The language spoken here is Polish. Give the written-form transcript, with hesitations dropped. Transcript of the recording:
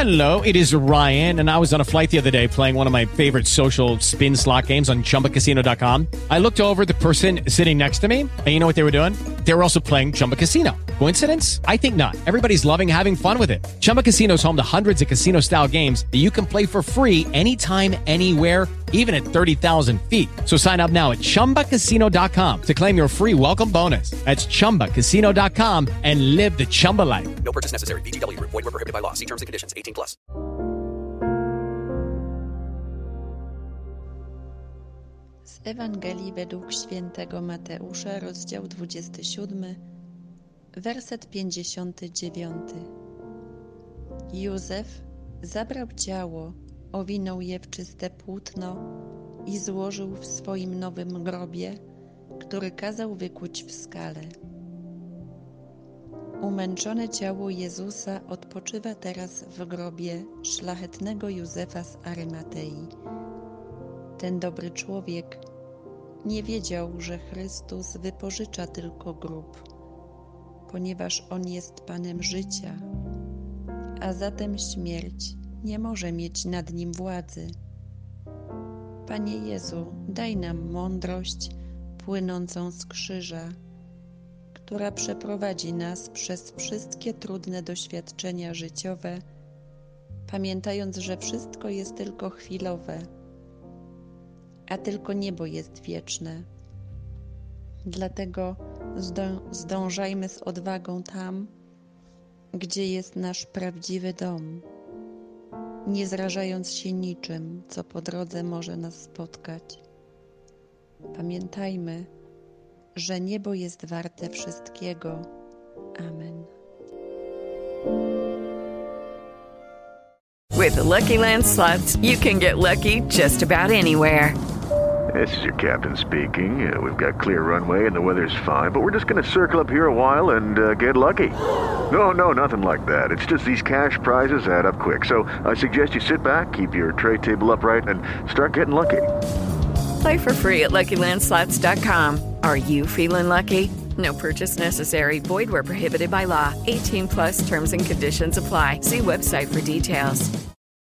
Hello, it is Ryan, and I was on a flight the other day playing one of my favorite social spin slot games on ChumbaCasino.com. I looked over at the person sitting next to me, and you know what they were doing? They were also playing Chumba Casino. Coincidence? I think not. Everybody's loving having fun with it. Chumba Casino is home to hundreds of casino-style games that you can play for free anytime, anywhere, even at 30,000 feet. So sign up now at ChumbaCasino.com to claim your free welcome bonus. That's ChumbaCasino.com and live the Chumba life. No purchase necessary. VGW. Void where prohibited by law. See terms and conditions. 18 plus. Z Ewangelii według świętego Mateusza, rozdział 27, werset 59. Józef zabrał ciało, owinął je w czyste płótno i złożył w swoim nowym grobie, który kazał wykuć w skale. Umęczone ciało Jezusa odpoczywa teraz w grobie szlachetnego Józefa z Arymatei. Ten dobry człowiek nie wiedział, że Chrystus wypożycza tylko grób, ponieważ On jest Panem życia, a zatem śmierć nie może mieć nad Nim władzy. Panie Jezu, daj nam mądrość płynącą z krzyża, która przeprowadzi nas przez wszystkie trudne doświadczenia życiowe, pamiętając, że wszystko jest tylko chwilowe, a tylko niebo jest wieczne. Dlatego zdążajmy z odwagą tam, gdzie jest nasz prawdziwy dom, nie zrażając się niczym, co po drodze może nas spotkać. Pamiętajmy, że niebo jest warte wszystkiego. Amen. With the Lucky Land Slots, you can get lucky just about anywhere. This is your captain speaking. We've got clear runway and the weather's fine, but we're just going to circle up here a while and get lucky. No, nothing like that. It's just these cash prizes add up quick. So I suggest you sit back, keep your tray table upright, and start getting lucky. Play for free at LuckyLandSlots.com. Are you feeling lucky? No purchase necessary. Void where prohibited by law. 18 plus terms and conditions apply. See website for details.